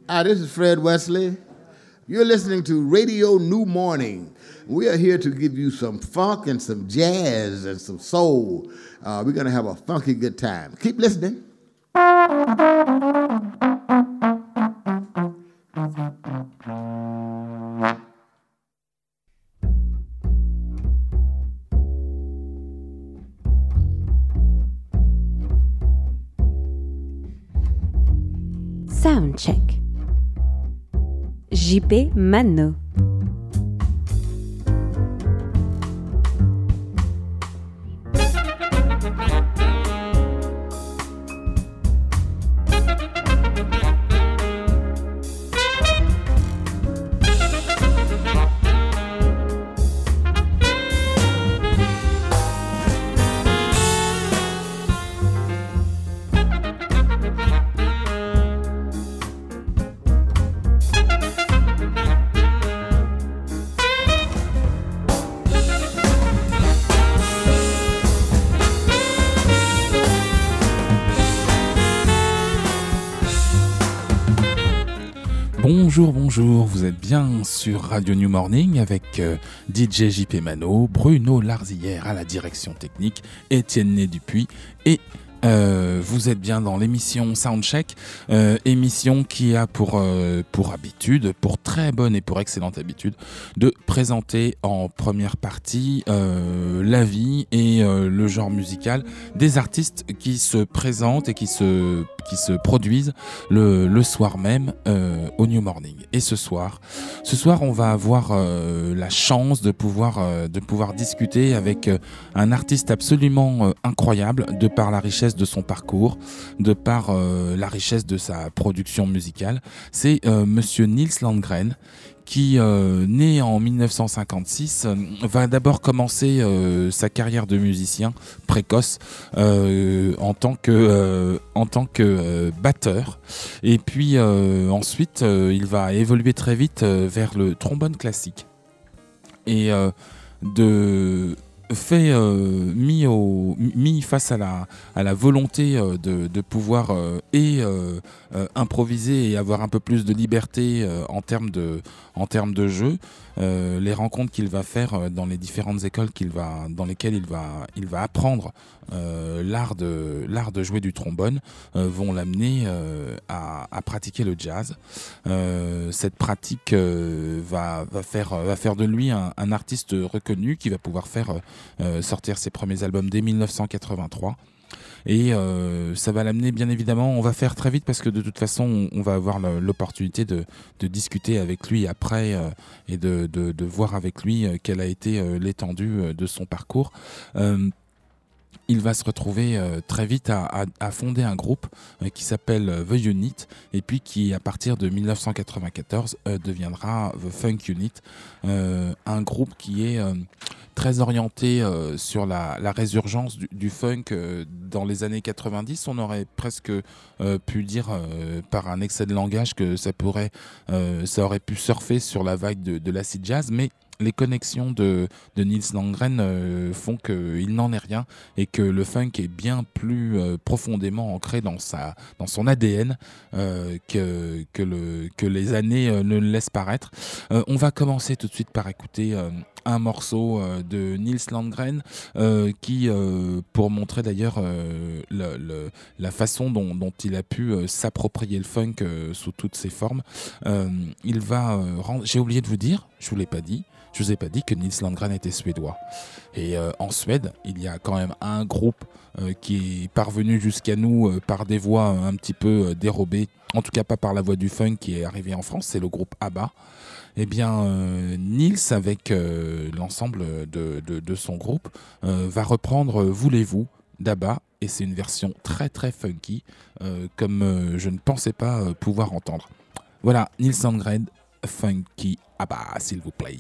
Hi, this is Fred Wesley. You're listening to Radio New Morning. We are here to give you some funk and some jazz and some soul. We're going to have a funky good time. Keep listening. Soundcheck. JP Mano. Bonjour, vous êtes bien sur Radio New Morning avec DJ JP Mano, Bruno Larzillière à la direction technique, Étienne Né Dupuis et vous êtes bien dans l'émission Soundcheck, émission qui a pour habitude, pour très bonne et pour excellente habitude, de présenter en première partie la vie et le genre musical des artistes qui se présentent et qui se produisent le soir même au New Morning. Et ce soir, on va avoir la chance de pouvoir discuter avec un artiste absolument incroyable de par la richesse de son parcours, de par la richesse de sa production musicale. C'est Monsieur Nils Landgren, qui, né en 1956, va d'abord commencer sa carrière de musicien précoce en tant que batteur. Et puis ensuite, il va évoluer très vite vers le trombone classique. Et mis face à la volonté de pouvoir improviser et avoir un peu plus de liberté en termes de jeu, les rencontres qu'il va faire dans les différentes écoles dans lesquelles il va apprendre l'art de jouer du trombone vont l'amener à pratiquer le jazz. Cette pratique va faire de lui un artiste reconnu qui va pouvoir faire sortir ses premiers albums dès 1983. Et ça va l'amener, bien évidemment, on va faire très vite parce que de toute façon on va avoir l'opportunité de discuter avec lui après et de voir avec lui quelle a été l'étendue de son parcours. Il va se retrouver très vite à fonder un groupe qui s'appelle The Unit et puis qui, à partir de 1994, deviendra The Funk Unit, un groupe qui est très orienté sur la résurgence du funk dans les années 90. On aurait presque pu dire par un excès de langage que ça aurait pu surfer sur la vague de l'acid jazz, mais les connexions de Nils Landgren font qu'il n'en est rien et que le funk est bien plus profondément ancré dans son ADN que les années ne le laissent paraître. On va commencer tout de suite par écouter un morceau de Nils Landgren qui, pour montrer d'ailleurs la façon dont il a pu s'approprier le funk sous toutes ses formes, il va j'ai oublié de vous dire, je vous ai pas dit que Nils Landgren était suédois. Et en Suède, il y a quand même un groupe qui est parvenu jusqu'à nous par des voix un petit peu dérobées, en tout cas pas par la voix du funk qui est arrivé en France, c'est le groupe ABBA. Eh bien, Nils, avec l'ensemble de son groupe, va reprendre Voulez-vous d'ABBA, et c'est une version très très funky, comme je ne pensais pas pouvoir entendre. Voilà, Nils Landgren, Funky ABBA, s'il vous plaît.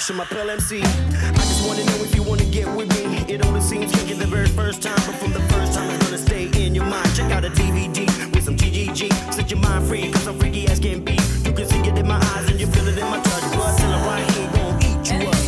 Je m'appelle MC. I just wanna know if you wanna get with me. It only seems kinky the very first time, but from the first time it's gonna stay in your mind. Check out a DVD with some GGG. Set your mind free, cause I'm freaky as can be. You can see it in my eyes and you feel it in my touch. But till I'm right here, gon' eat you up.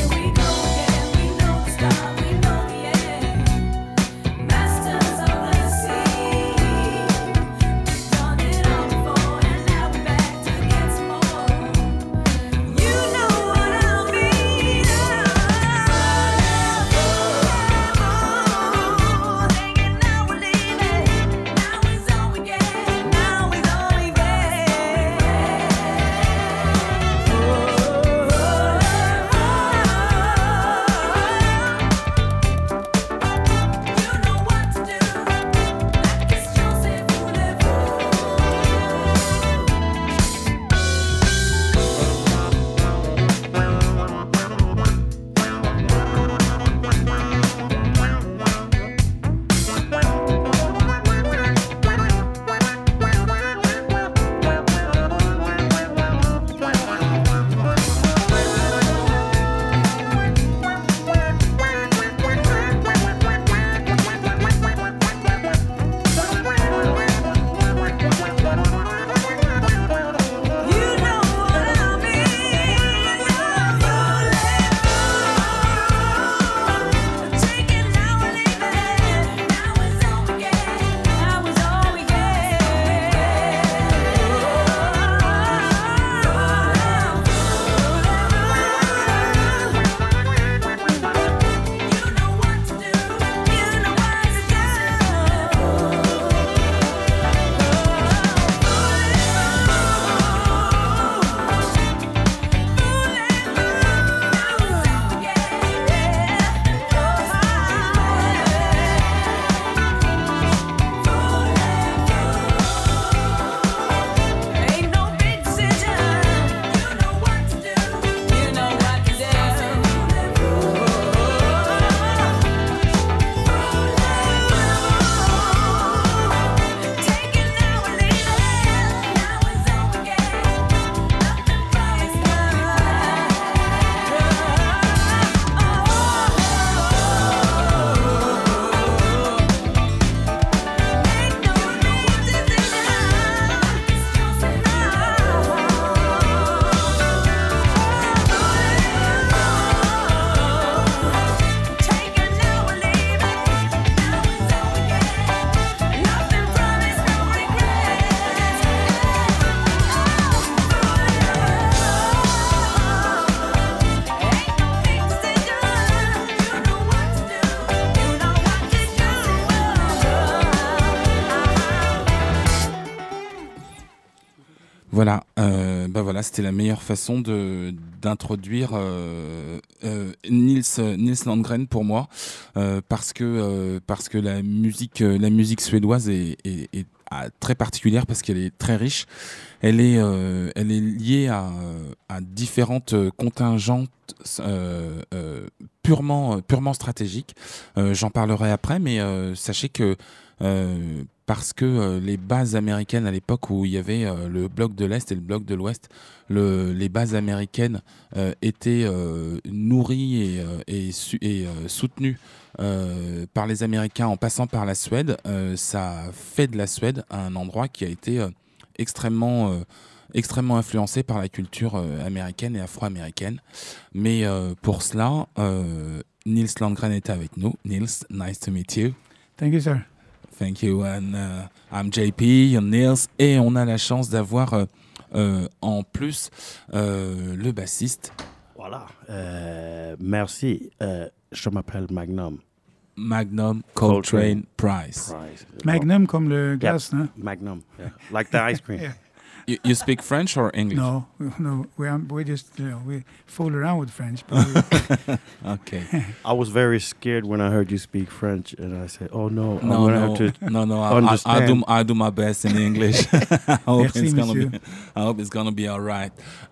Voilà, c'était la meilleure façon d'introduire Nils Landgren pour moi, parce que la musique suédoise est très particulière, parce qu'elle est très riche. Elle est liée à différentes contingentes purement stratégiques. J'en parlerai après, mais sachez que parce que les bases américaines à l'époque où il y avait le bloc de l'Est et le bloc de l'Ouest, les bases américaines étaient nourries et soutenues par les Américains en passant par la Suède. Ça fait de la Suède un endroit qui a été extrêmement influencé par la culture américaine et afro-américaine. Mais pour cela, Nils Landgren était avec nous. Nils, nice to meet you. Thank you, sir. Thank you. And I'm JP, you're Nils. Et on a la chance d'avoir en plus le bassiste. Voilà. Merci. Je m'appelle Magnum. Magnum Coltrane Price. Magnum comme le glace, yep. hein? Magnum, yeah. Like the ice cream. Yeah. You speak French or English? No, we just we fool around with French. Okay. I was very scared when I heard you speak French, and I said, "Oh no, I'm no, gonna have to understand. I do my best in English. I hope Merci, it's gonna be all right.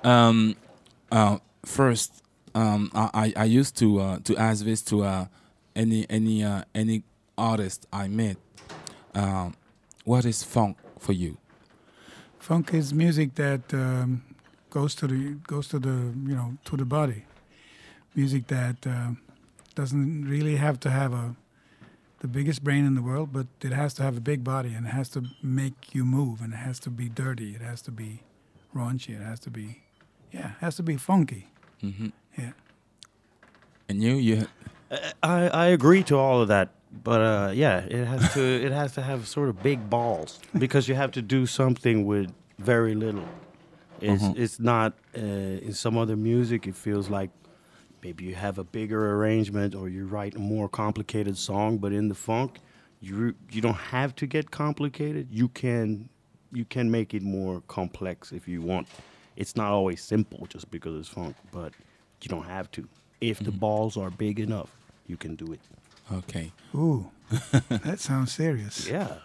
First, I used to ask this to any artist I met. What is funk for you? Funk is music that goes to the to the body. music that doesn't really have to have the biggest brain in the world, but it has to have a big body, and it has to make you move, and it has to be dirty, it has to be raunchy, it has to be funky. Mm-hmm. Yeah. And you I agree to all of that, but it has to have sort of big balls because you have to do something with very little. It's not in some other music. It feels like maybe you have a bigger arrangement or you write a more complicated song, but in the funk, you don't have to get complicated. You can make it more complex if you want. It's not always simple just because it's funk, but you don't have to. If the balls are big enough, you can do it. Okay. Ooh, that sounds serious. Yeah.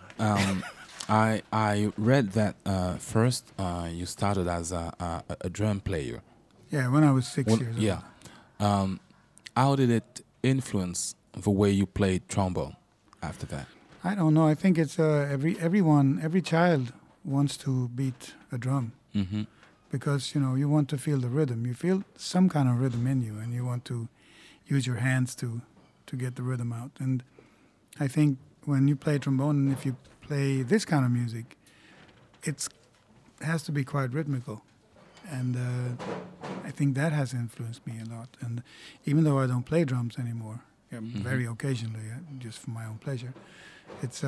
I read that first you started as a drum player. Yeah, when I was 6 years old. Yeah. How did it influence the way you played trombone after that? I don't know. I think it's every child wants to beat a drum. Mm-hmm. Because, you want to feel the rhythm. You feel some kind of rhythm in you, and you want to use your hands to get the rhythm out. And I think when you play trombone, and if you play this kind of music, it has to be quite rhythmical. And I think that has influenced me a lot. And even though I don't play drums anymore, very occasionally, just for my own pleasure, it's,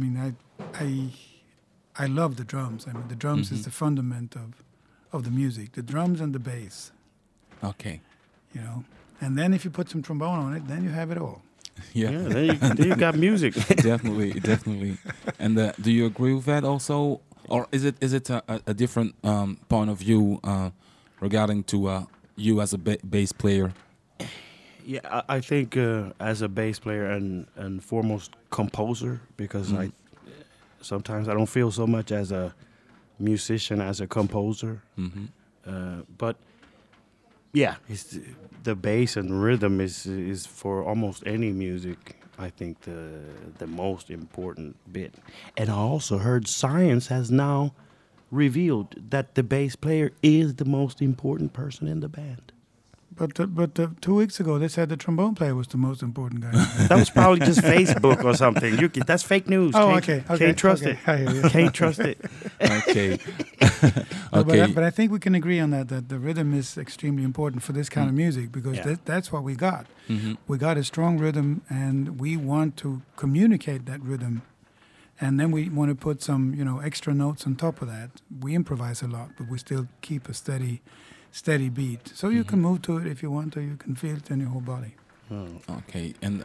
I love the drums. I mean, the drums is the fundament of the music, the drums and the bass. Okay. And then if you put some trombone on it, then you have it all. Yeah. Then you got music. Definitely. And do you agree with that also, or is it a different point of view regarding to you as a bass player? Yeah, I think as a bass player and foremost composer, because sometimes I don't feel so much as a musician as a composer. But yeah, the bass and rhythm is for almost any music, I think, the most important bit. And I also heard science has now revealed that the bass player is the most important person in the band. But 2 weeks ago, they said the trombone player was the most important guy. That was probably just Facebook or something. That's fake news. Oh, Can't trust it. I hear you. Can't trust it. Okay. No, Okay. but I think we can agree on that the rhythm is extremely important for this kind of music, because that's what we got. We got a strong rhythm, and we want to communicate that rhythm. And then we want to put some, extra notes on top of that. We improvise a lot, but we still keep a steady beat. So you can move to it if you want to. You can feel it in your whole body. Okay. And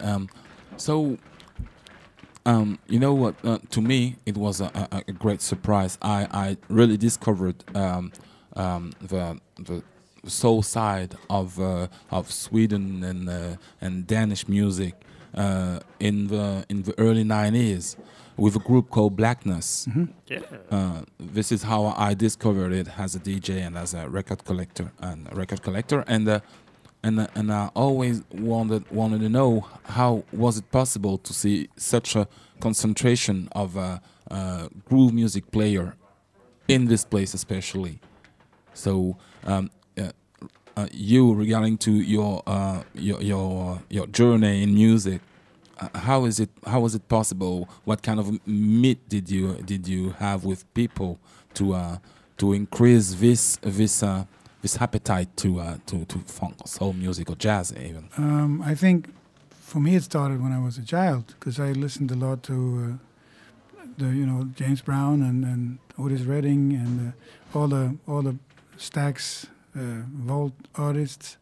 you know what? To me, it was a great surprise. I really discovered the soul side of Sweden and Danish music in the early 90s with a group called Blackness. This is how I discovered it as a DJ and as a record collector. And I always wanted to know how was it possible to see such a concentration of groove music player in this place, especially. So, you regarding to your journey in music, how was it possible? What kind of meet did you have with people to increase this appetite to funk, soul music, or jazz even? I think for me it started when I was a child, because I listened a lot to James Brown and Otis Redding and all the Stax Vault artists,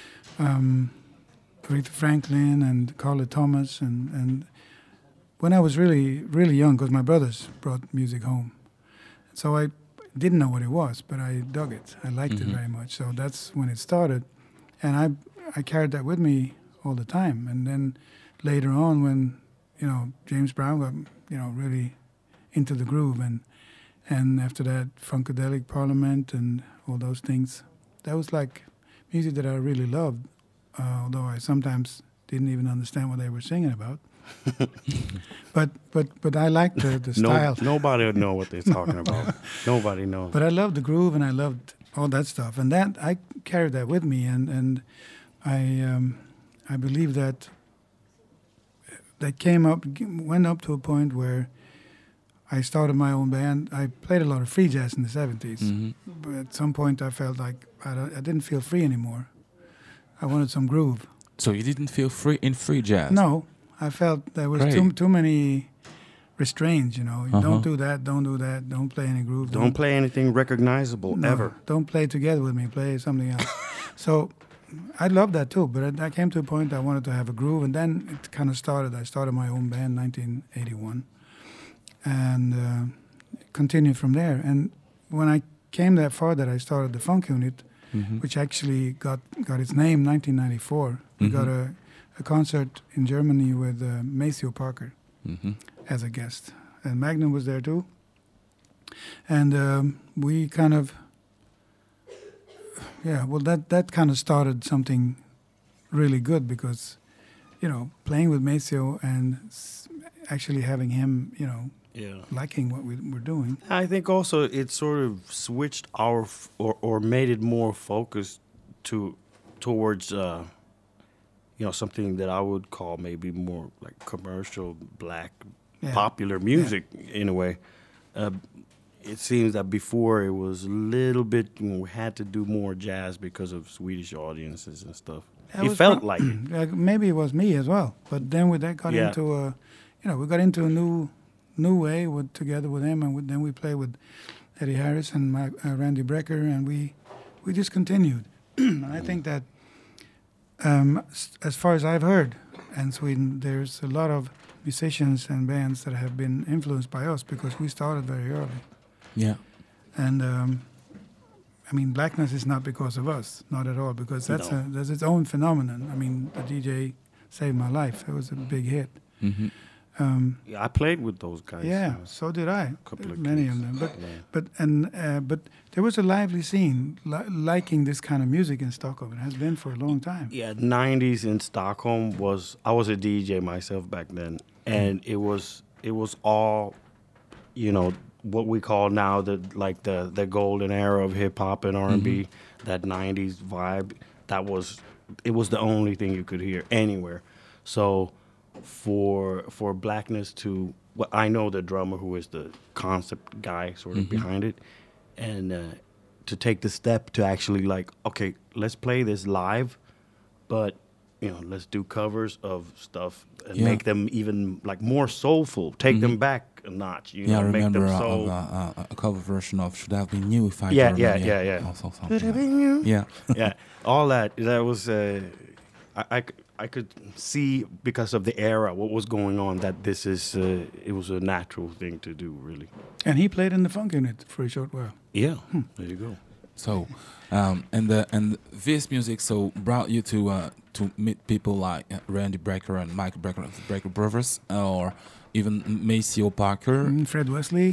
Aretha Franklin and Carla Thomas, and when I was really, really young, because my brothers brought music home, so I didn't know what it was, but I dug it. I liked it very much. So that's when it started, and I carried that with me all the time. And then later on, when James Brown got really into the groove, and after that Funkadelic Parliament and all those things, that was like music that I really loved. Although I sometimes didn't even understand what they were singing about. but I liked the style. Nobody would know what they're talking about. Nobody knows. But I loved the groove, and I loved all that stuff. And that I carried that with me. And I believe that went up to a point where I started my own band. I played a lot of free jazz in the 70s. But at some point I felt like I didn't feel free anymore. I wanted some groove. So you didn't feel free in free jazz? No, I felt there was too many restraints, you know. Don't do that, don't do that, don't play any groove. Don't play anything recognizable, ever. Don't play together with me, play something else. So I loved that too, but I came to a point I wanted to have a groove, and then it kind of started. I started my own band in 1981, and continued from there. And when I came that far that I started the Funk Unit, which actually got its name 1994. We got a concert in Germany with Maceo Parker as a guest. And Magnum was there too. And we kind of, that kind of started something really good because, you know, playing with Maceo and actually having him, you know, liking what we're doing. I think also it sort of switched or made it more focused towards you know, something that I would call maybe more like commercial black popular music in a way. It seems that before it was a little bit, you know, we had to do more jazz because of Swedish audiences and stuff. It felt like it. Maybe it was me as well, but then we got into a, you know, we got into a new way together with him, and then we played with Eddie Harris and Randy Brecker, and we just continued. And I think that as far as I've heard, in Sweden, there's a lot of musicians and bands that have been influenced by us because we started very early. Yeah. And I mean, Blackness is not because of us, not at all, because that's its own phenomenon. I mean, the DJ Saved My Life. It was a big hit. I played with those guys. Yeah, so did I. Couple of many gigs. of them. But there was a lively scene liking this kind of music in Stockholm. It has been for a long time. Yeah, 90s in Stockholm I was a DJ myself back then, and it was all, you know, what we call now the golden era of hip hop and R&B, that 90s vibe. It was the only thing you could hear anywhere. So for Blackness to, well, I know the drummer who is the concept guy sort of behind it, and to take the step to actually like, okay, let's play this live, but you know, let's do covers of stuff and make them even like more soulful, take them back a notch. You know, I make remember them a cover version of Should Have Been You if I Yeah. Also something. Yeah. Yeah, all that was I could see because of the era what was going on that this is it was a natural thing to do, really. And he played in the Funk Unit for a short while. Yeah, there you go. So, and this music brought you to meet people like Randy Brecker and Mike Brecker of the Brecker Brothers, or even Maceo Parker, Fred Wesley,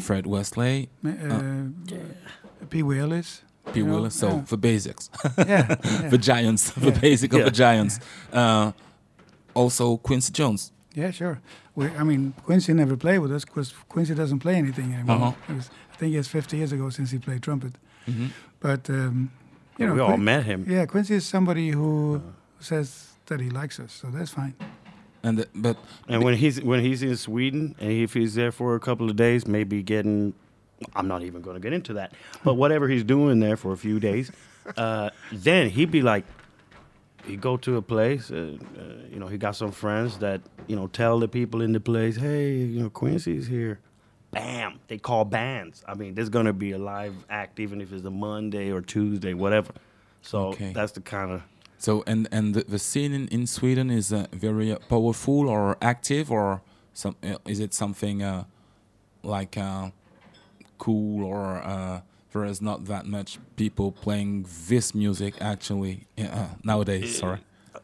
Pee Wee Ellis. P. Willis, so for basics. Yeah. For giants, for basic of the giants. Also Quincy Jones. Yeah, sure. Quincy never played with us because Quincy doesn't play anything anymore. I think it's 50 years ago since he played trumpet. But, you know. We all met him. Yeah, Quincy is somebody who says that he likes us, so that's fine. And when he's in Sweden, and if he's there for a couple of days, maybe getting... I'm not even going to get into that. But whatever he's doing there for a few days, then he'd be like, he'd go to a place, you know, he got some friends that, you know, tell the people in the place, hey, you know, Quincy's here. Bam! They call bands. I mean, there's going to be a live act, even if it's a Monday or Tuesday, whatever. So that's the kind of... So, and the scene in Sweden is very powerful or active, or is it something like... cool, or there is not that much people playing this music actually nowadays? Sorry,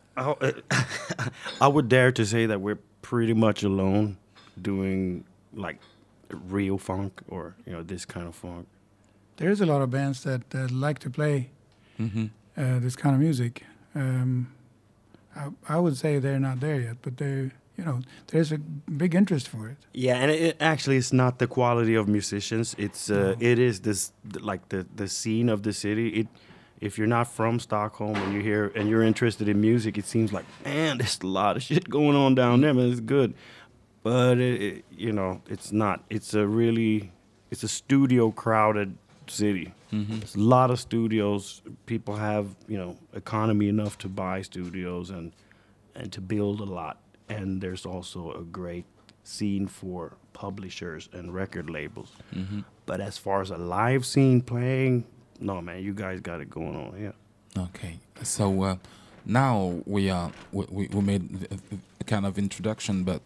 I would dare to say that we're pretty much alone doing like real funk, or you know, this kind of funk. There's a lot of bands that like to play this kind of music. I would say they're not there yet, but they're... You know, there's a big interest for it. Yeah, and it actually it's not the quality of musicians. It's it is this like the scene of the city. if you're not from Stockholm and you're here and you're interested in music, it seems like, man, there's a lot of shit going on down there, man. It's good, but it's not. It's a studio crowded city. There's a lot of studios. People have economy enough to buy studios and to build a lot. And there's also a great scene for publishers and record labels. But as far as a live scene playing, no, man, you guys got it going on. Yeah. Okay, so now we made a kind of introduction, but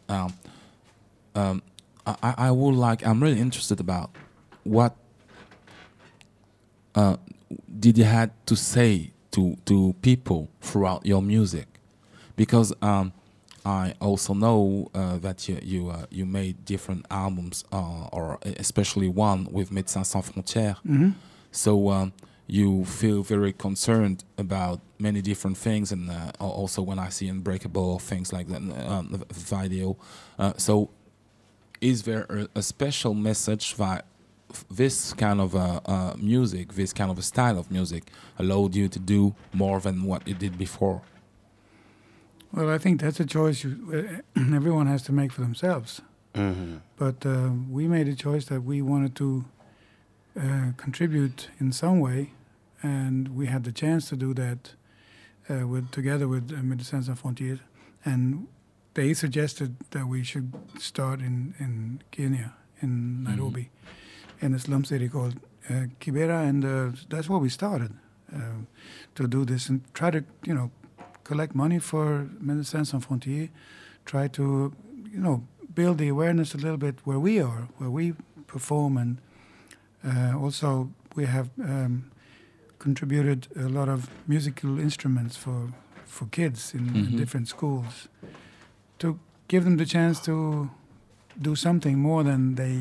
I would like. I'm really interested about what did you had to say to people throughout your music, because I also know that you made different albums, or especially one with Médecins Sans Frontières. So you feel very concerned about many different things, and also when I see Unbreakable, things like that, the video. So is there a special message that this kind of music, this kind of a style of music allowed you to do more than what you did before? Well, I think that's a choice everyone has to make for themselves. But we made a choice that we wanted to contribute in some way, and we had the chance to do that together with Médecins Sans Frontières, and they suggested that we should start in Kenya, in Nairobi, in a slum city called Kibera, and that's where we started to do this and try to, collect money for Médecins Sans Frontières, try to, build the awareness a little bit where we are, where we perform, and also we have contributed a lot of musical instruments for kids in different schools to give them the chance to do something more than they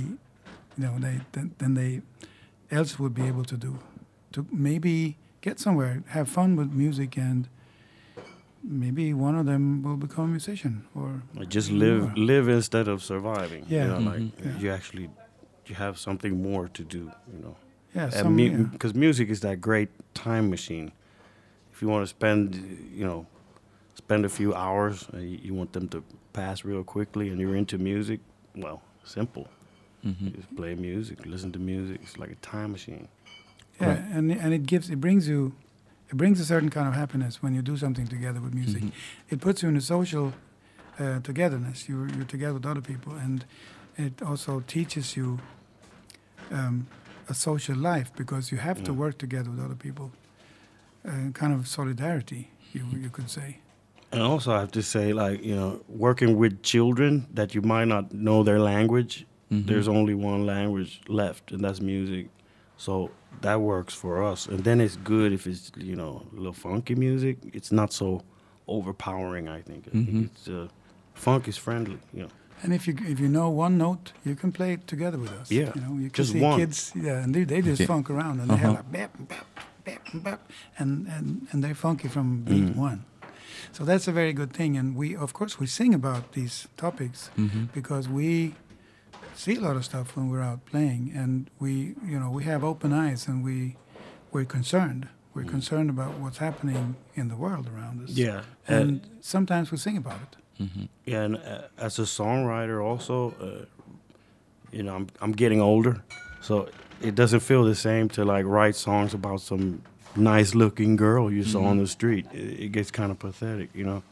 else would be able to do, to maybe get somewhere, have fun with music, and maybe one of them will become a musician or just live instead of surviving. Yeah. You have something more to do. Yeah, because music is that great time machine. If you want to spend a few hours, you want them to pass real quickly, and you're into music. Well, simple. You just play music, listen to music. It's like a time machine. Yeah, right. and it brings a certain kind of happiness when you do something together with music. It puts you in a social togetherness. You're together with other people, and it also teaches you a social life, because you have to work together with other people. Kind of solidarity, you could say. And also, I have to say, working with children that you might not know their language. There's only one language left, and that's music. So that works for us. And then it's good if it's, a little funky music. It's not so overpowering, I think. I think it's funk is friendly, And if you know one note, you can play it together with us. Yeah, you can just see one. Kids, and they just funk around, and they have like bap, bap, bap, bap, and they're funky from beat one. So that's a very good thing. And we sing about these topics because we see a lot of stuff when we're out playing, and we have open eyes, and we're concerned. We're concerned about what's happening in the world around us. Yeah, and sometimes we sing about it. Yeah, and as a songwriter also, I'm getting older, so it doesn't feel the same to write songs about some nice-looking girl you saw on the street. It gets kind of pathetic,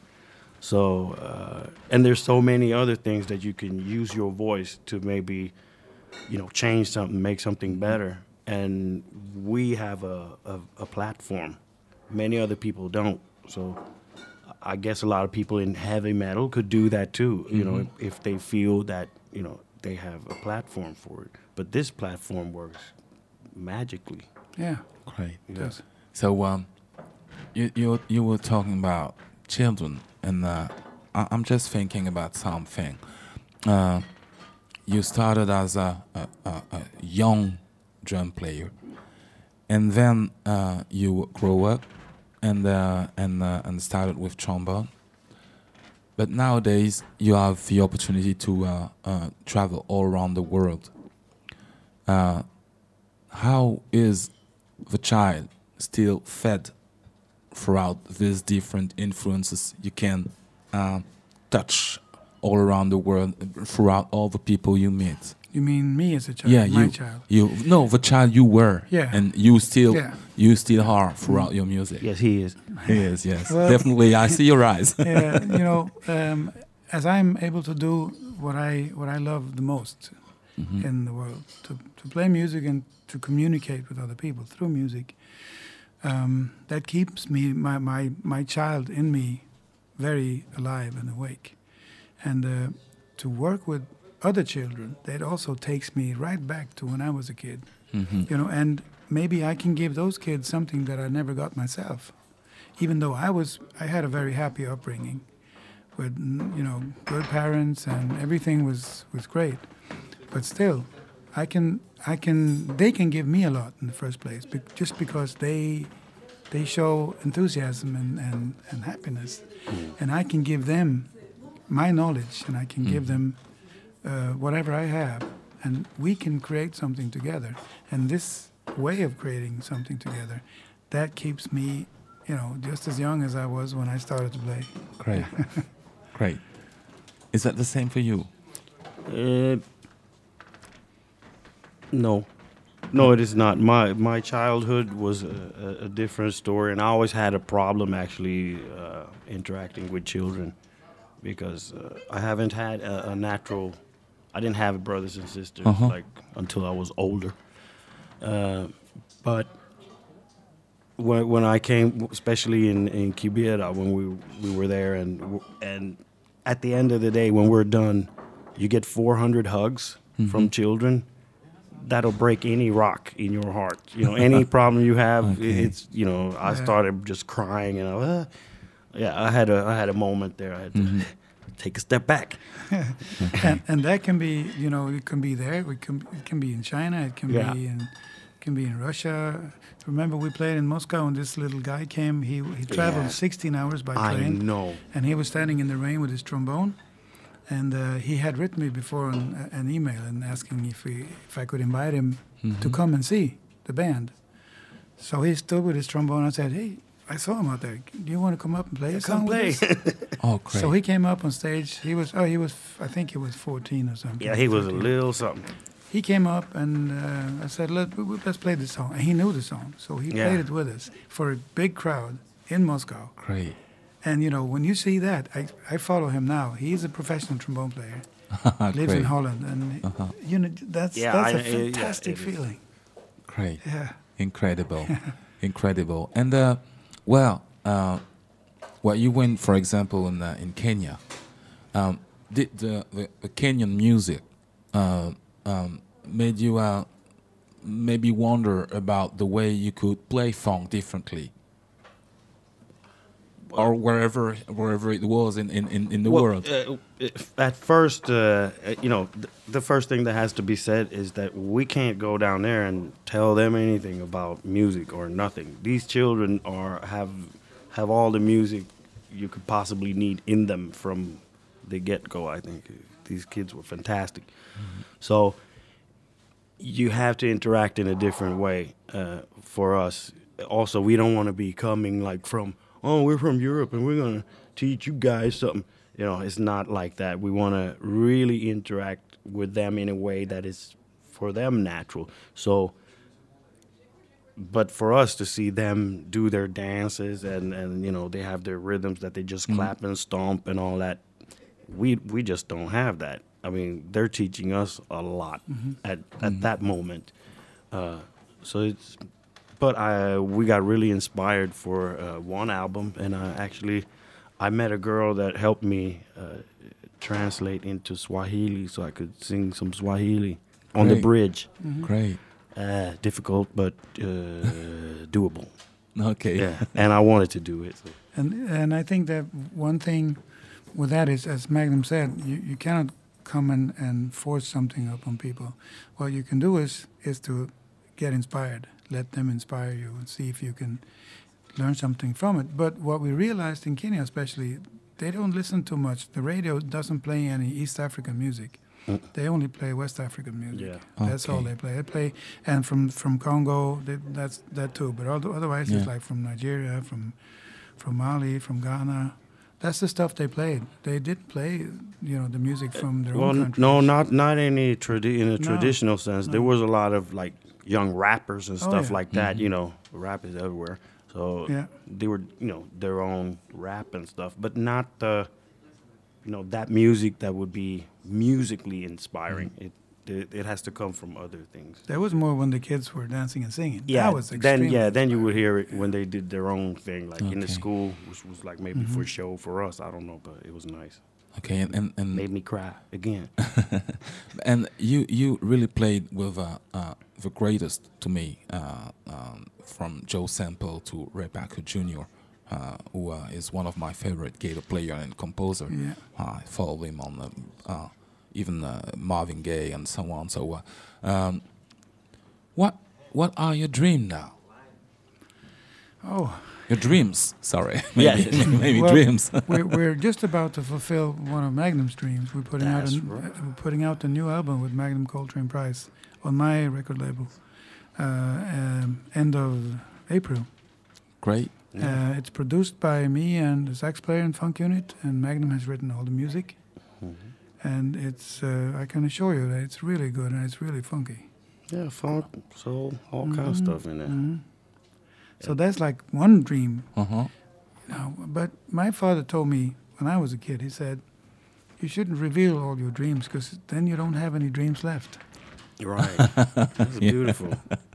So, and there's so many other things that you can use your voice to maybe, change something, make something better. And we have a platform. Many other people don't. So I guess a lot of people in heavy metal could do that too, if they feel that, they have a platform for it. But this platform works magically. Yeah. Great. It does. So you were talking about children, and I'm just thinking about something. You started as a young drum player, and then you grow up and started with trombone. But nowadays you have the opportunity to travel all around the world. How is the child still fed throughout these different influences you can touch all around the world, throughout all the people you meet. You mean me as a child? Yeah, my child. No, the child you were, Yeah. and you still Yeah. are throughout your music. Yes, he is. He is, yes, Well- definitely. I see your eyes. Yeah, as I'm able to do what I love the most in the world, to play music and to communicate with other people through music, that keeps my child in me very alive and awake. And to work with other children, that also takes me right back to when I was a kid. And maybe I can give those kids something that I never got myself, even though I had a very happy upbringing with good parents and everything was great. But still, they can give me a lot in the first place, just because they show enthusiasm and happiness, and I can give them my knowledge, and I can give them whatever I have, and we can create something together. And this way of creating something together, that keeps me, just as young as I was when I started to play. Great, great. Is that the same for you? No, it is not. My childhood was a different story, and I always had a problem actually interacting with children, because I haven't had a natural. I didn't have brothers and sisters like until I was older. But when I came, especially in Quibera, when we were there, and at the end of the day, when we're done, you get 400 hugs from children. That'll break any rock in your heart. Any problem you have, it's I started just crying, and I had a moment there. I had to take a step back. and that can be, it can be there. It can be in China. It can be in Russia. Remember, we played in Moscow, and this little guy came. He traveled 16 hours by train. I know. And he was standing in the rain with his trombone. And he had written me before an email and asking if I could invite him to come and see the band. So he stood with his trombone. I said, "Hey, I saw him out there. Do you want to come up and play a song with us?" Oh, great. So he came up on stage. I think he was 14 or something. Yeah, he was a 13. little something. He came up and I said, let's play this song. And he knew the song. So he played it with us for a big crowd in Moscow. Great. And, when you see that, I follow him now. He's a professional trombone player. Lives in Holland. And, that's a fantastic feeling. Great. Yeah. Incredible. Incredible. And, you went, for example, in Kenya. Did the Kenyan music made you maybe wonder about the way you could play funk differently? Or wherever it was in the world. At first, the first thing that has to be said is that we can't go down there and tell them anything about music or nothing. These children have all the music you could possibly need in them from the get-go. I think these kids were fantastic. So you have to interact in a different way for us. Also, we don't want to be coming like from, we're from Europe and we're going to teach you guys something. It's not like that. We want to really interact with them in a way that is for them natural. So, but for us to see them do their dances and they have their rhythms that they just clap and stomp and all that, we just don't have that. I mean, they're teaching us a lot at that moment. But we got really inspired for one album, and I met a girl that helped me translate into Swahili so I could sing some Swahili on the bridge. Great. Difficult, but doable. Okay. Yeah, and I wanted to do it. So. And I think that one thing with that is, as Magnum said, you cannot come and force something up on people. What you can do is to get inspired. Let them inspire you and see if you can learn something from it. But what we realized in Kenya especially, they don't listen too much. The radio doesn't play any East African music. They only play West African music. Yeah. That's all Okay. they play. They play, and from Congo, that's that too. But otherwise, it's Yeah. like from Nigeria, from Mali, from Ghana. That's the stuff they played. They didn't play, the music from their Well, own country. no, not any in a No, traditional sense. There no. was a lot of like young rappers and Oh, stuff yeah. like that. You know, rap is everywhere. So Yeah. they were, their own rap and stuff, but not the, that music that would be musically inspiring. It has to come from other things. There was more when the kids were dancing and singing. Yeah, That was then extremely then you would hear it when they did their own thing, like in the Okay. school, which was like maybe for show for us. I don't know, but it was nice. Okay, and Made me cry again. and you really played with the greatest to me, from Joe Sample to Ray Parker Jr., who is one of my favorite gator player and composer. Yeah. I follow him on even Marvin Gaye and so on. So, what are your dreams now? Oh, Your dreams, sorry, Yeah. maybe Well, dreams. we're just about to fulfill one of Magnum's dreams. We're putting That's right. we're putting out a new album with Magnum Coltrane Price on my record label, end of April. Great. It's produced by me and the sax player in Funk Unit, and Magnum has written all the music. And it's I can assure you that it's really good and it's really funky. Yeah, funk, soul, all kind of stuff in there. So that's like one dream. Uh-huh. But my father told me when I was a kid, he said, you shouldn't reveal all your dreams because then you don't have any dreams left. Right. That's beautiful.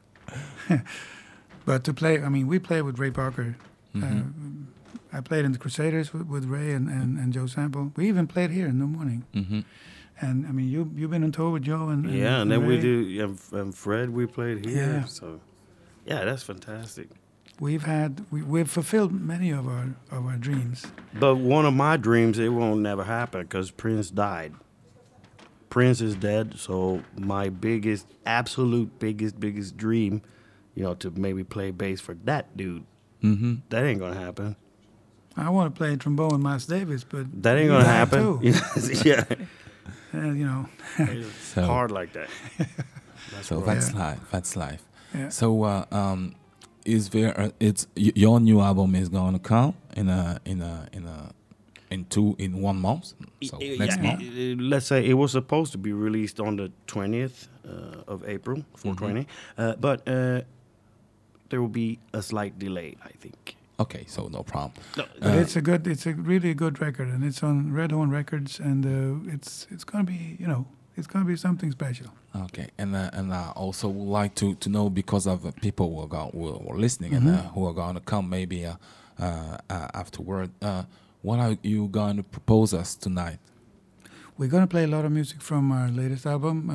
But to play, we played with Ray Parker. I played in the Crusaders with Ray and Joe Sample. We even played here in the morning. Mm-hmm. And you've been on tour with Joe and Yeah, and then we Ray. do, and Fred, we played here. Yeah. So, yeah, that's fantastic. We've fulfilled many of our dreams. But one of my dreams, it won't never happen because Prince died. Prince is dead, so my absolute biggest dream, to maybe play bass for that dude, that ain't gonna happen. I want to play trombone with Miles Davis, but That ain't he gonna died happen. too. Yeah, it's So- hard like that. So that's life. That's life. Yeah. So, is there? Your new album is going to come in 1 month. So next month. Let's say it was supposed to be released on the 20th of April, 420, but there will be a slight delay, I think. Okay, so no problem. But it's a really good record, and it's on Red Horn Records, and it's gonna be it's gonna be something special. Okay, and I also would like to know, because of people who are listening and who are going to come maybe afterward. What are you going to propose us tonight? We're gonna play a lot of music from our latest album.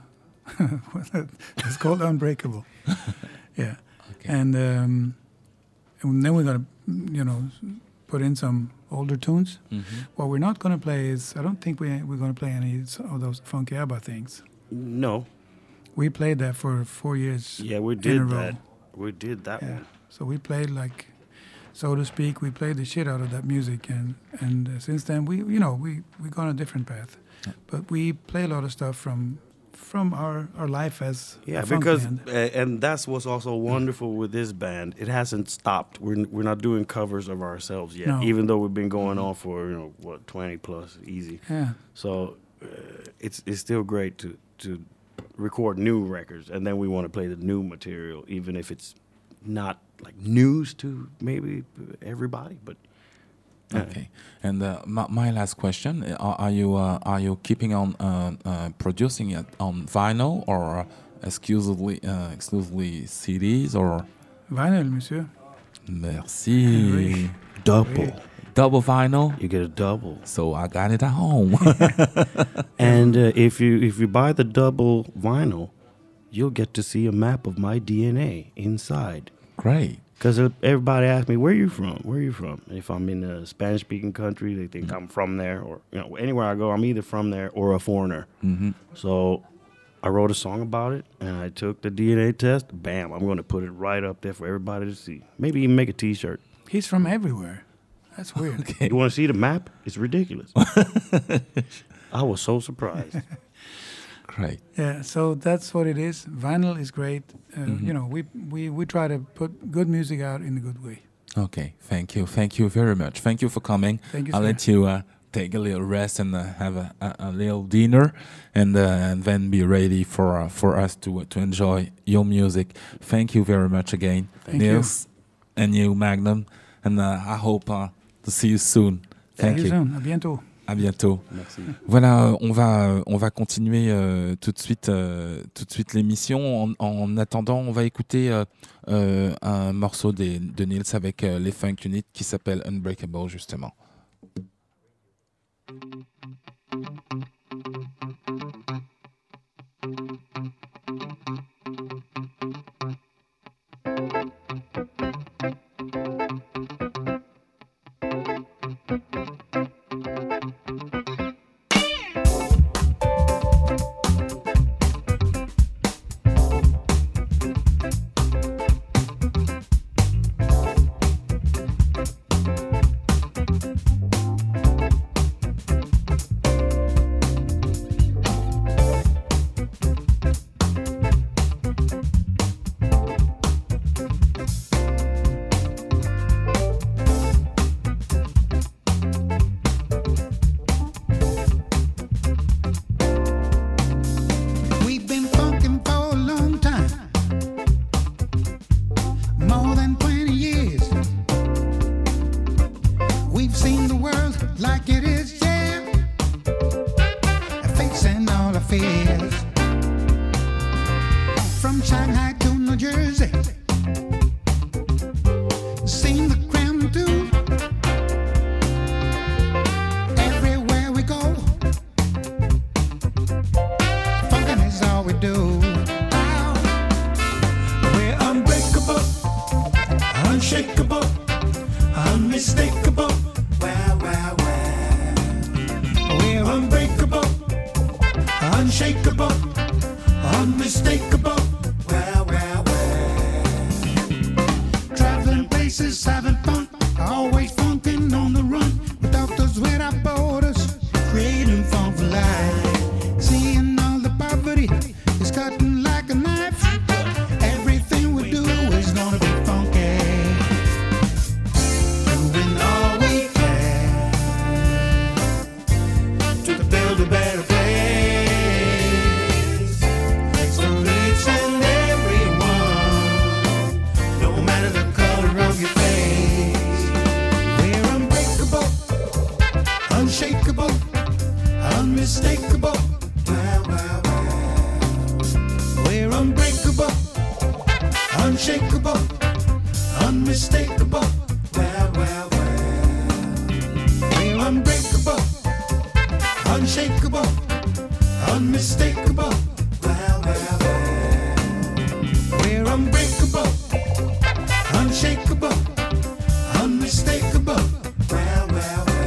It's called Unbreakable. Yeah, Okay. and then we're gonna put in some older tunes. What we're not gonna play is, I don't think we're gonna play any of those funky ABBA things. No, We played that for 4 years. yeah, we in a did row. that. We did that Yeah. one. So we played, like, so to speak, we played the shit out of that music, and since then we gone a different path. But we play a lot of stuff from our life as Yeah, a funk because band. and that's what's also wonderful with this band. It hasn't stopped. We're not doing covers of ourselves yet, No. even though we've been going on for 20 plus easy. Yeah. So it's still great to record new records, and then we want to play the new material, even if it's not like news to maybe everybody. But Okay, and my last question: Are you keeping on producing it on vinyl or exclusively CDs or? Vinyl, monsieur. Merci. double, Vinyl. you get a double. So I got it at home. And if you buy the double vinyl, you'll get to see a map of my DNA inside. Great. Because everybody asks me, where you from? Where you from? If I'm in a Spanish-speaking country, they think I'm from there. Or anywhere I go, I'm either from there or a foreigner. So I wrote a song about it, and I took the DNA test. Bam, I'm going to put it right up there for everybody to see. Maybe even make a T-shirt. He's from everywhere. That's weird. You want to see the map? It's ridiculous. I was so surprised. Great. Yeah, so that's what it is. Vinyl is great. You know, we try to put good music out in a good way. Okay, thank you. Thank you very much. Thank you for coming. Thank you, I'll sir. let you take a little rest and have a little dinner, and then be ready for us to enjoy your music. Thank you very much again, Thank Niels, and you, Magnum, and I hope to see you soon. Thank See you you. soon. À bientôt. À bientôt. Merci. Voilà, on va continuer tout de suite l'émission. En attendant, on va écouter un morceau de Niels avec les Funk Unit qui s'appelle Unbreakable justement. We've been funkin' for a long time, more than 20 years. We've seen the world like it is, yeah, facing all our fears. From Shanghai to New Jersey, seen the Kremlin too. Everywhere we go, funkin' is all we do. Ow. We're unbreakable, unshakable, unmistakable. Well, well, well. We're unbreakable, unshakable, unmistakable. Well, well, well. Traveling places, having fun, always funkin' on the run. With doctors without borders, creating fun for life. Seeing all the poverty is cutting like a knife. Everything we do is gonna be funky. Doing all we can to build a better place for each and everyone, no matter the color of your face. We're unbreakable, unshakable, unmistakable. Well, well, well. We're unbreakable, unshakable, unmistakable. Well, well, well. We're unbreakable, unshakable, unmistakable. Well, well, well. We're unbreakable, unshakable, unmistakable. Well, well, well.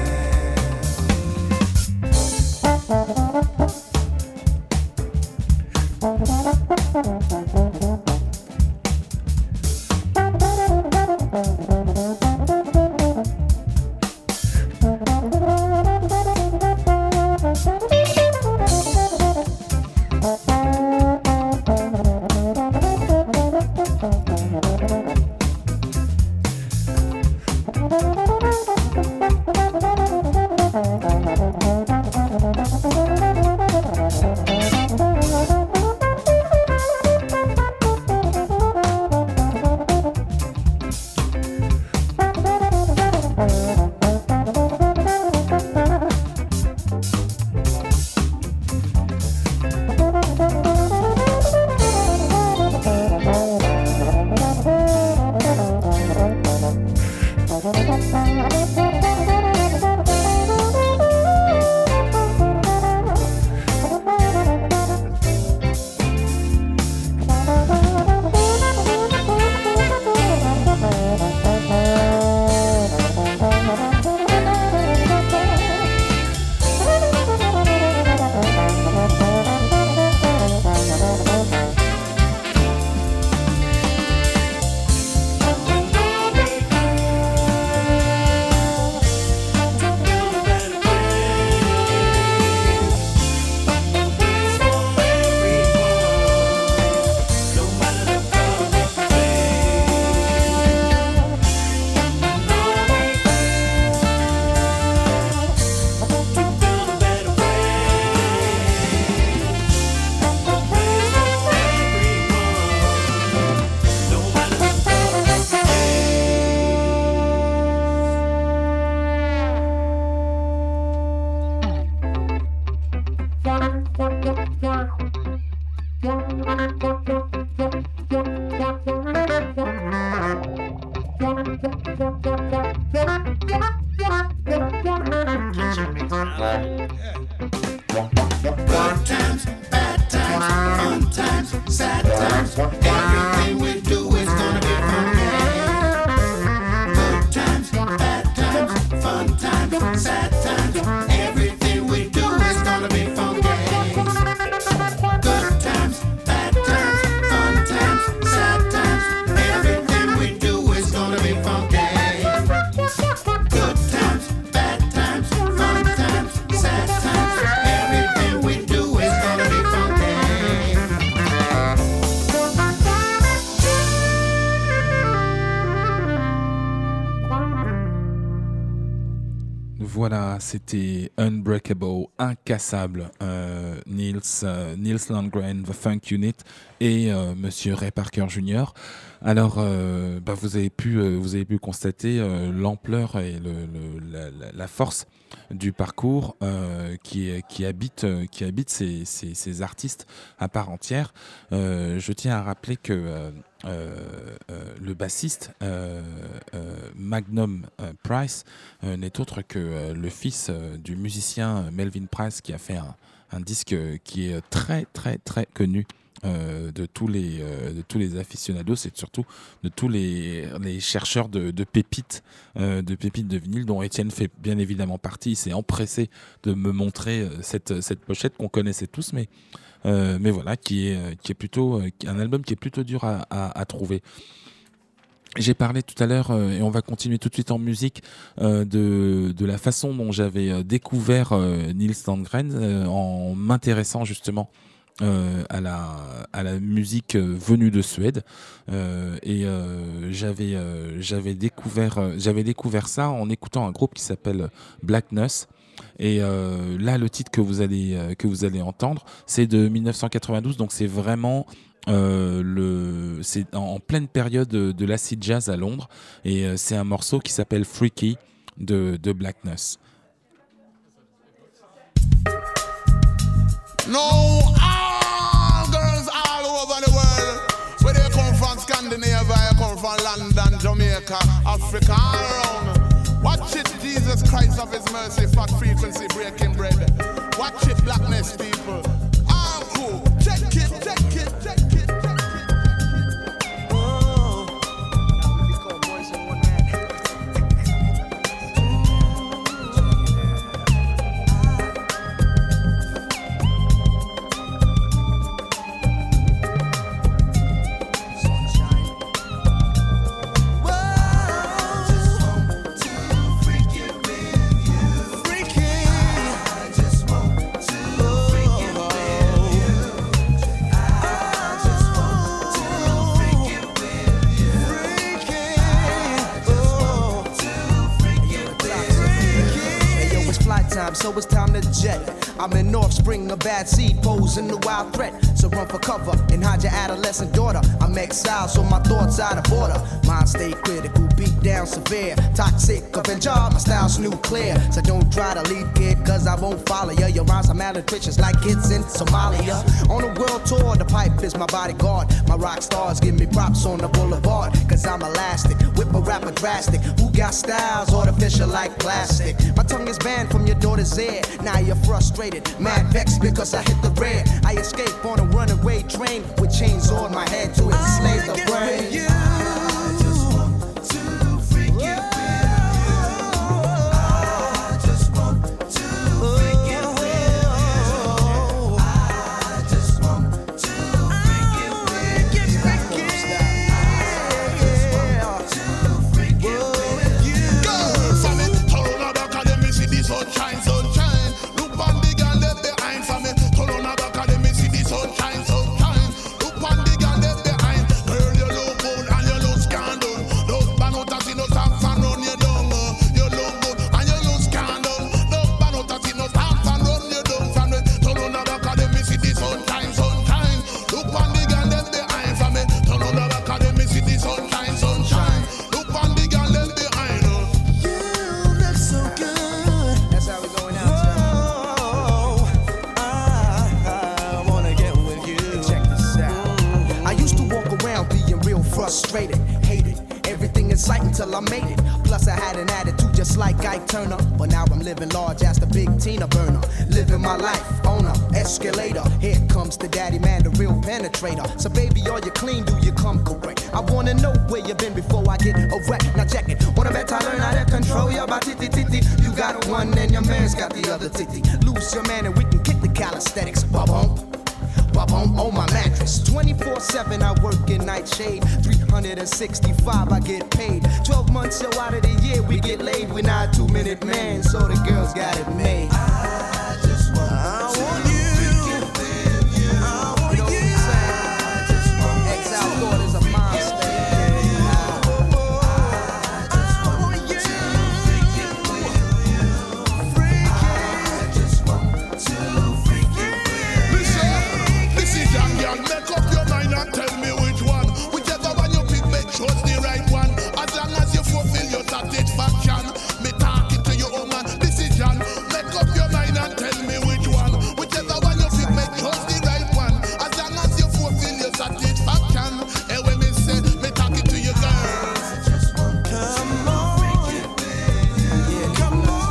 Good times, bad times, fun times, sad times. Everything we do is gonna be funky. Good times, bad times, fun times, sad times. Everything we do is gonna be funky. Good times, bad times, fun times, sad times. Everything we do is gonna be funky. Good times, bad times, fun times, sad times. Everything we do is gonna be funky. Voilà, c'était Unbreakable, incassable, Nils Landgren, The Funk Unit et Monsieur Ray Parker Jr. Alors, vous avez pu constater l'ampleur et la force du parcours qui habite ces artistes à part entière. Je tiens à rappeler que le bassiste Magnum Price n'est autre que le fils du musicien Melvin Price, qui a fait un disque qui est très très très connu de tous les aficionados et surtout de tous les chercheurs de pépites de vinyle, dont Étienne fait bien évidemment partie. Il s'est empressé de me montrer cette pochette qu'on connaissait tous, mais voilà, qui est plutôt un album qui est plutôt dur à trouver. J'ai parlé tout à l'heure, et on va continuer tout de suite en musique, de la façon dont j'avais découvert Nils Landgren en m'intéressant justement à la musique venue de Suède, et j'avais découvert ça en écoutant un groupe qui s'appelle Black Nuss. Et là, le titre que vous allez entendre, c'est de 1992, donc c'est vraiment c'est en pleine période de l'acid jazz à Londres, et c'est un morceau qui s'appelle Freaky de Black Nuss. No, all girls all over the world. Where they come from, Scandinavia, they come from London, Jamaica, Africa, all around. Watch it, Jesus Christ of His mercy, fat frequency breaking bread. Watch it, Blackness people. All cool. Check it, check it, check it, check it. So it's time to jet. I'm an offspring, a bad seed, posing a wild threat. So run for cover and hide your adolescent daughter. I'm exiled, so my thoughts out of order. Mind stay critical, beat down severe. Toxic Avenger, my style's nuclear. So don't try to lead, kid, cause I won't follow ya. Your rhymes are malnutritious like kids in Somalia. On a world tour, the pipe is my bodyguard. My rock stars give me props on the boulevard. Cause I'm elastic, whip a rapper drastic. Who got styles artificial like plastic? My tongue is banned from your daughter's ear. Now you're frustrated, mad vexed because I hit the red. I escape on a runaway train with chains on my head to enslave the brain. Frustrated, hated, everything in sight until I made it. Plus I had an attitude just like Ike Turner. But now I'm living large as the big Tina Burner. Living my life on a escalator. Here comes the daddy man, the real penetrator. So baby, are you clean? Do you come correct? I wanna know where you been before I get a wreck. Now check it. Wanna bet I learn how to control your body, titty. You got one and your man's got the other titty. Lose your man and we can kick the calisthenics. Ba-bump. On my mattress 24/7 I work in nightshade 365 I get paid 12 months so out of the year we get laid. We're not a 2-minute man so the girls got it made. I just want you. Exile Lord is a monster. Make up your mind and tell me which one. Whichever one you pick, make sure it's the right one. As long as you fulfill your satisfaction. Me talking to your own man, decision. Make up your mind and tell me which one. Whichever one you pick, make sure it's the right one. As long as you fulfill your satisfaction. And when me say, me talking to your girls. Come on. Yeah, come on.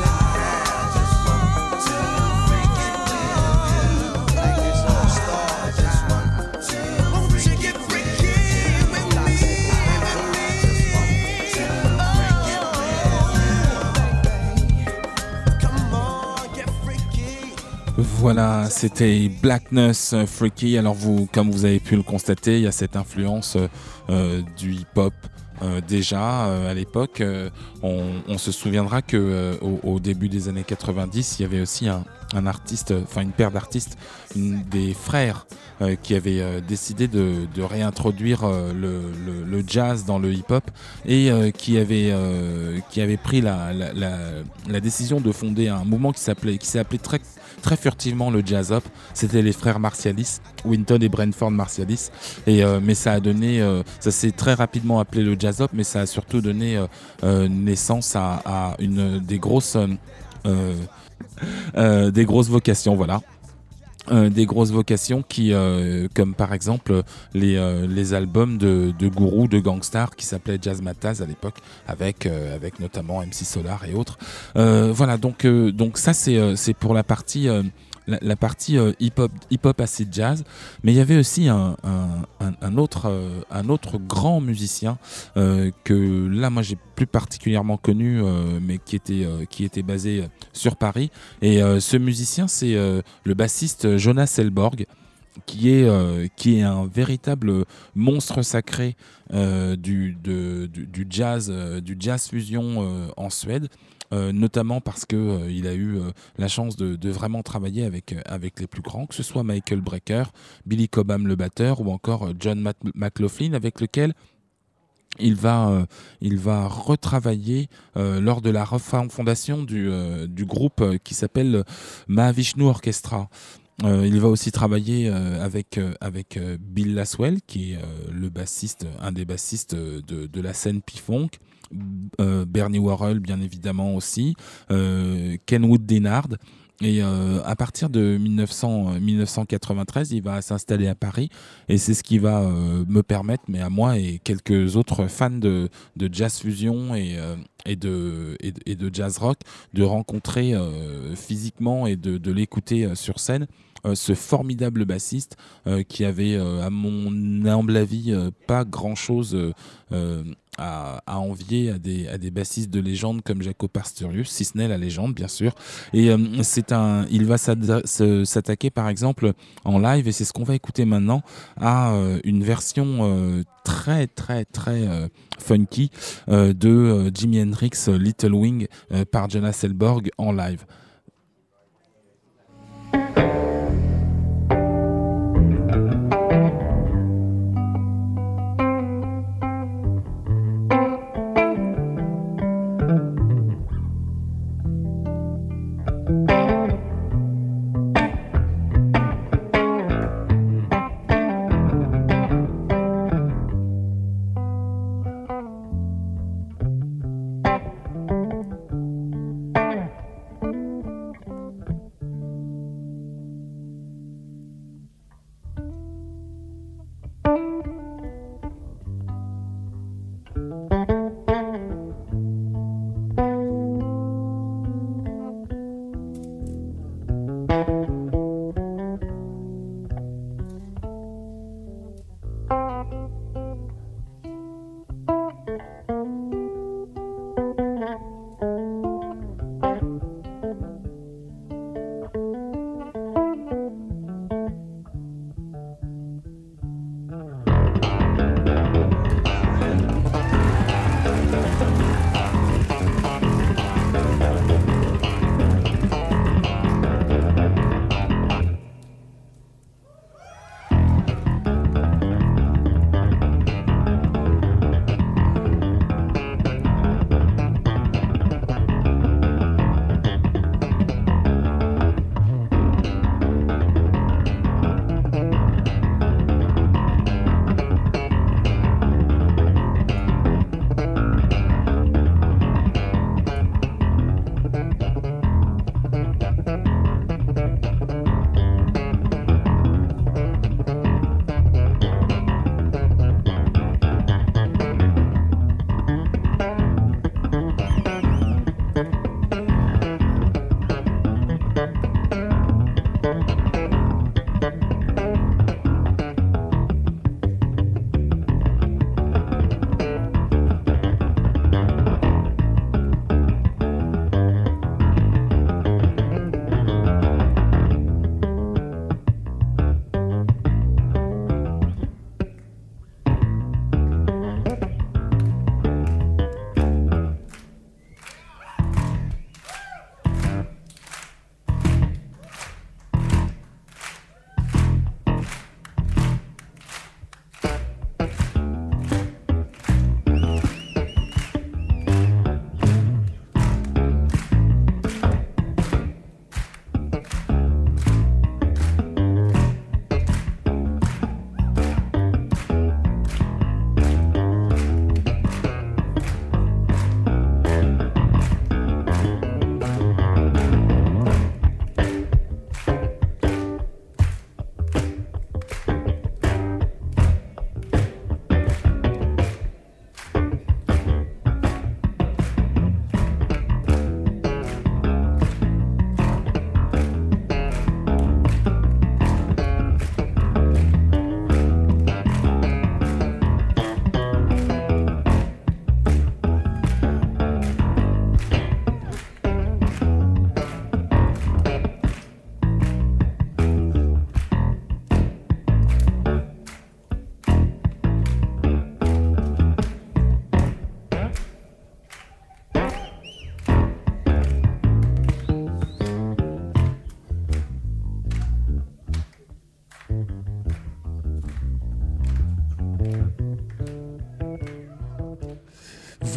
Voilà, c'était Blackness Freaky. Alors vous, comme vous avez pu le constater, il y a cette influence du hip-hop. Déjà à l'époque, on se souviendra que au début des années 90, il y avait aussi un artiste, enfin une paire d'artistes, des frères qui avaient décidé de réintroduire le jazz dans le hip-hop et qui avait pris la décision de fonder un mouvement qui s'est appelé très furtivement le jazz hop. C'était les frères Marcialis, Winton et Brentford Marcialis, et mais ça s'est très rapidement appelé le jazz hop, mais ça a surtout donné naissance à une des grosses vocations, voilà. Des grosses vocations qui, comme par exemple les albums de Guru, de Gangstar, qui s'appelaient Jazzmatazz à l'époque, avec notamment MC Solar et autres. Voilà, donc ça c'est pour la partie hip-hop acid jazz, mais il y avait aussi un autre grand musicien que là moi j'ai plus particulièrement connu, mais qui était basé sur Paris, et ce musicien c'est le bassiste Jonas Elborg, qui est un véritable monstre sacré du jazz fusion en Suède. Notamment parce que il a eu la chance de vraiment travailler avec les plus grands, que ce soit Michael Brecker, Billy Cobham le batteur, ou encore John McLaughlin, avec lequel il va retravailler lors de la refondation du groupe qui s'appelle Mahavishnu Orchestra. Il va aussi travailler avec Bill Laswell, qui est un des bassistes de la scène P-Funk, Bernie Worrell bien évidemment aussi, Kenwood Denard. Et à partir de 1993, il va s'installer à Paris, et c'est ce qui va me permettre, mais à moi et quelques autres fans de jazz fusion et de jazz rock, de rencontrer physiquement et de l'écouter sur scène. Ce formidable bassiste qui avait, à mon humble avis, pas grand-chose à envier à des bassistes de légende comme Jaco Pastorius, si ce n'est la légende bien sûr. Et il va s'attaquer par exemple en live, et c'est ce qu'on va écouter maintenant, à une version très très très funky de Jimi Hendrix Little Wing par Jonas Elborg en live.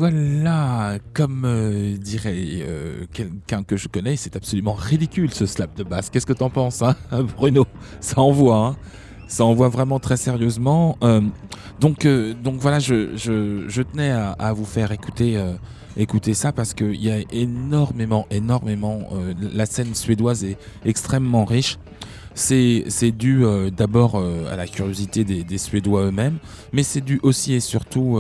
voilà, comme dirait quelqu'un que je connais, c'est absolument ridicule ce slap de basse. Qu'est-ce que t'en penses, hein, Bruno? Ça envoie, hein. Ça envoie vraiment très sérieusement. Donc voilà, je tenais à vous faire écouter ça parce qu'il y a énormément. La scène suédoise est extrêmement riche. C'est dû d'abord à la curiosité des Suédois eux-mêmes, mais c'est dû aussi et surtout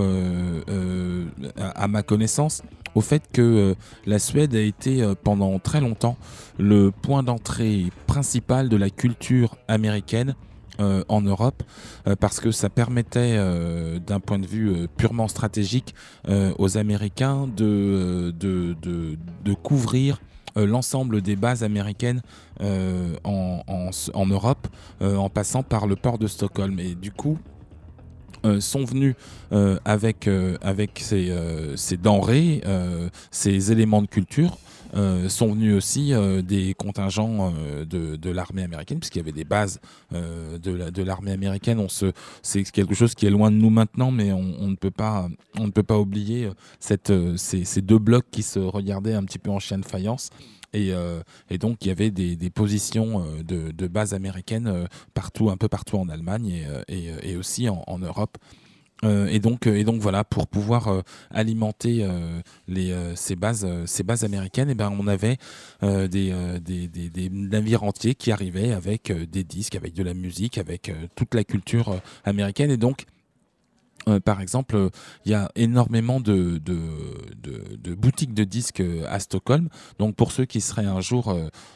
à ma connaissance au fait que la Suède a été pendant très longtemps le point d'entrée principal de la culture américaine en Europe, parce que ça permettait d'un point de vue purement stratégique aux Américains de couvrir l'ensemble des bases américaines en Europe, en passant par le port de Stockholm. Et du coup, sont venus avec ces denrées, ces éléments de culture. Sont venus aussi des contingents de l'armée américaine, puisqu'il y avait des bases de l'armée américaine. C'est quelque chose qui est loin de nous maintenant, mais on ne peut pas oublier ces deux blocs qui se regardaient un petit peu en chien de faïence. Et donc il y avait des positions de bases américaines un peu partout en Allemagne et aussi en Europe. Et donc voilà, pour pouvoir alimenter ces bases américaines, et ben on avait des navires entiers qui arrivaient avec des disques, avec de la musique, avec toute la culture américaine. Et donc par exemple, il y a énormément de boutiques de disques à Stockholm. Donc pour ceux qui seraient un jour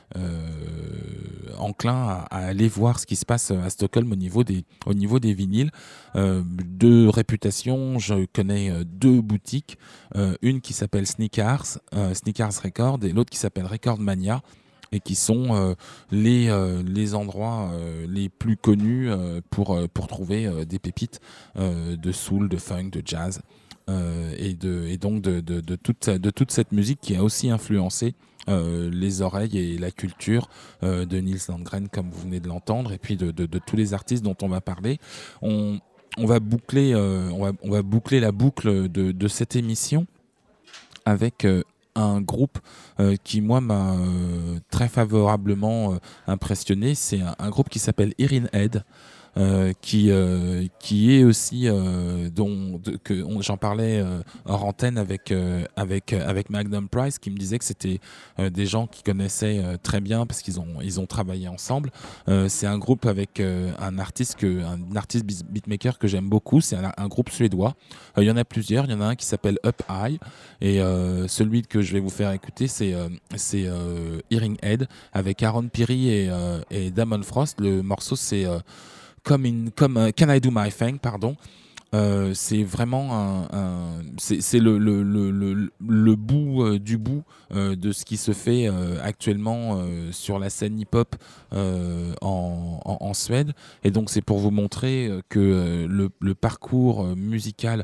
enclins à aller voir ce qui se passe à Stockholm au niveau des vinyles, de réputation, je connais deux boutiques. Une qui s'appelle Sneakers Records, et l'autre qui s'appelle Record Mania, et qui sont les endroits les plus connus pour trouver des pépites de soul, de funk, de jazz, et donc de toute cette musique qui a aussi influencé les oreilles et la culture de Nils Landgren, comme vous venez de l'entendre, et puis de tous les artistes dont on va parler. On va boucler la boucle de cette émission avec un groupe qui, moi, m'a très favorablement impressionné. C'est un groupe qui s'appelle Hearing Aid, qui est aussi j'en parlais hors antenne avec Magnum Price, qui me disait que c'était des gens qui connaissaient très bien parce qu'ils ont travaillé ensemble. C'est un groupe avec un artiste beatmaker que j'aime beaucoup. C'est un groupe suédois. Il y en a plusieurs. Il y en a un qui s'appelle Up High, et celui que je vais vous faire écouter, c'est Hearing Aid avec Aaron Piri et Damon Frost. Le morceau, c'est Can I Do My Thing, pardon. C'est vraiment c'est le bout du bout de ce qui se fait actuellement sur la scène hip-hop en Suède. Et donc c'est pour vous montrer que le parcours musical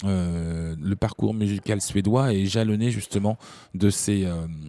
suédois est jalonné justement de ces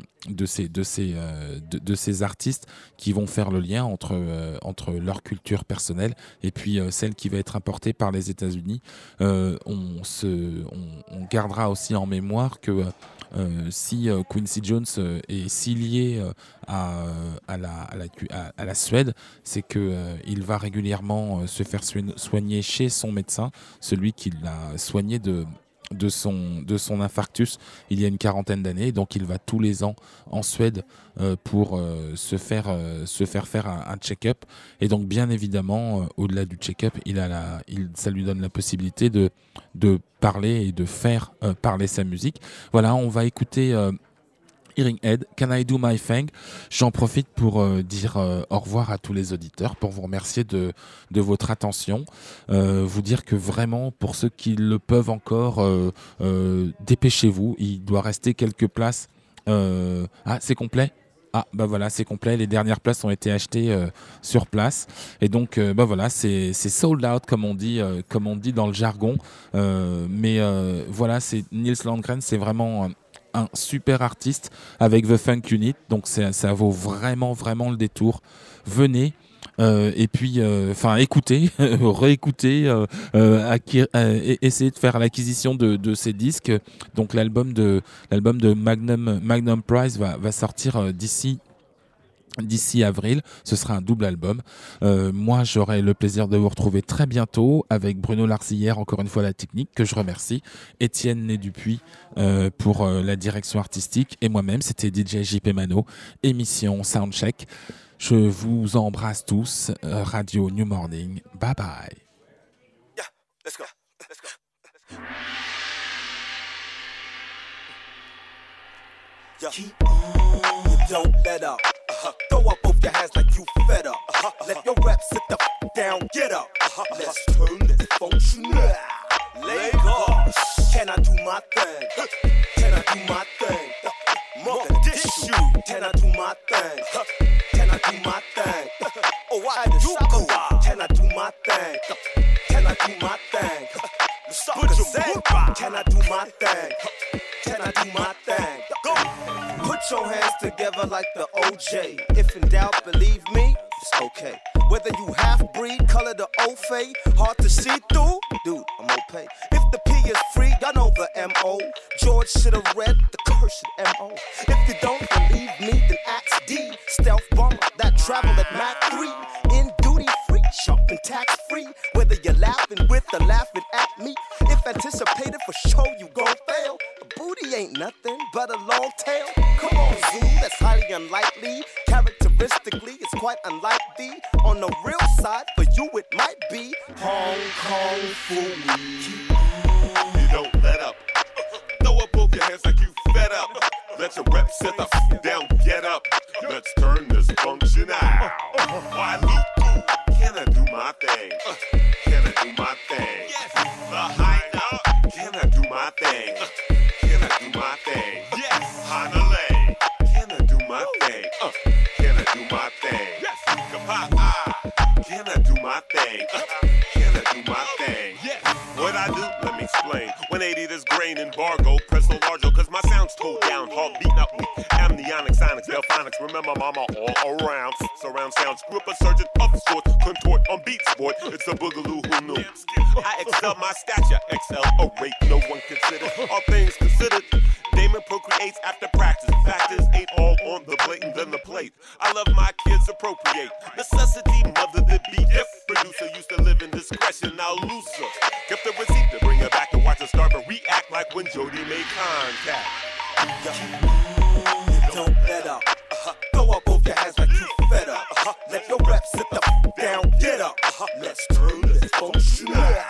artistes qui vont faire le lien entre leur culture personnelle et puis celle qui va être importée par les États-Unis. On gardera aussi en mémoire que si Quincy Jones est si lié à la Suède, c'est que il va régulièrement se faire soigner chez son médecin, celui qui l'a soigné de son infarctus il y a une quarantaine d'années. Donc il va tous les ans en Suède pour se faire faire un check-up. Et donc bien évidemment, au-delà du check-up, ça lui donne la possibilité de parler et de faire parler sa musique. Voilà, on va écouter Hearing Aid, Can I Do My Thing. J'en profite pour dire au revoir à tous les auditeurs, pour vous remercier de votre attention, vous dire que vraiment, pour ceux qui le peuvent encore, dépêchez-vous, il doit rester quelques places. C'est complet ? Ah, bah voilà, c'est complet. Les dernières places ont été achetées sur place. Et donc, voilà, c'est sold out, comme on dit dans le jargon. Mais voilà, c'est Nils Landgren, c'est vraiment un super artiste avec The Funk Unit. Donc, ça vaut vraiment, vraiment le détour. Venez. et puis écouter, réécouter, essayer de faire l'acquisition de ces disques. Donc l'album de Magnum Price va sortir d'ici avril. Ce sera un double album. Moi, j'aurai le plaisir de vous retrouver très bientôt avec Bruno Larcillière, encore une fois la technique, que je remercie, Étienne Né-Dupuis pour la direction artistique, et moi-même, c'était DJ JP Mano, émission Soundcheck. Je vous embrasse tous. Radio New Morning. Bye bye. Yeah, let's go. Let's go. Yeah. Keep on. You don't let up. Throw up both your hands like you fed up. Let your rep sit the down, get up. Let's turn this function now. Leg up. Can I do my thing? Can I do my thing? Mogadishu. Can I do my thing? Can I do my thing? Oh, I do. Can I do my thing? Can I do my thing? Can I do my thing? Can I do my thing? Go. Put your hands together like the OJ. If in doubt, believe me, it's okay. Whether you half-breed, color the O-Fay, hard to see through, dude, I'm okay. If the P is free, y'all know the M.O. George should've read the cursed M.O. If you don't believe me, then ask D. Stealth bomber that travel at Mach 3. In duty-free, shopping tax-free. Whether you're laughing with or laughing at me. If anticipated for show, you gon' fail. A booty ain't nothing but a long tail. Come on, Zoo, that's highly unlikely. Characteristically, it's quite unlike thee. On the real side, for you it might be Hong Kong Phooey. You don't let up. Throw up both your hands like you fed up. Let your rep sit the down, get up. Let's turn this function out. Why Luku? Can I do my thing? Can I do my thing? The high up. Can I do my thing? Can I do my thing? Yes. Hanalei. Can I do my thing? Can I do my thing? Yes. Kapa'a. Can I do my thing? Can I do my thing? Yes. What I do? Let me explain. 180 this grain embargo. Press so large, cause my sound's toned down. Heart beating up weak. Amnionic, sonics, delphonics. Remember mama all around. Surround sounds. Grip a surgeon of sorts. Contort on beat sport. It's a boogaloo who knew. I excel my stature. Excel a rate no one considered. All things considered. Damon procreates after practice. Factors ain't all on the plate and then the plate. I love my kids appropriate. Necessity, mother the beat. If producer used to live in discretion, now looser. Kept the receipt to bring her back and watch her start to react like when Jody made contact. Don't let up. Throw up both your hands like you fed up. Let your rep sit the down, get up. Let's turn this function out.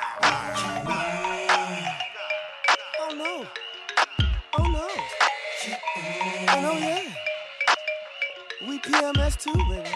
Oh no. Oh no. Oh no, yeah. We PMS too, baby.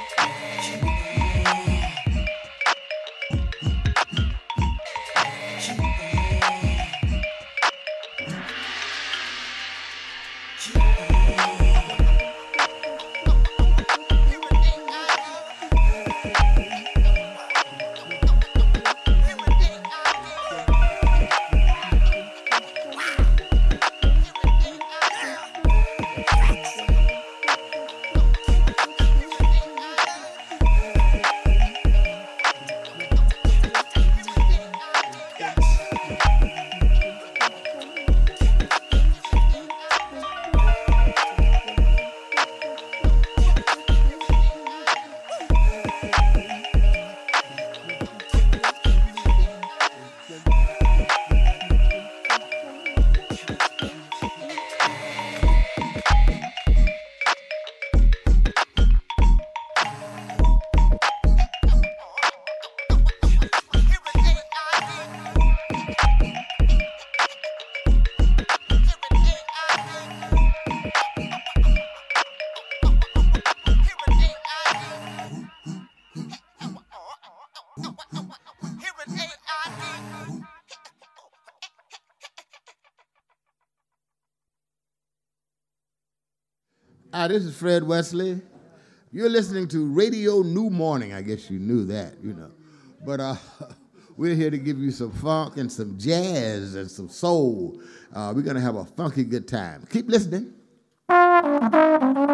Hi, this is Fred Wesley. You're listening to Radio New Morning. I guess you knew that, you know. But we're here to give you some funk and some jazz and some soul. We're going to have a funky good time. Keep listening.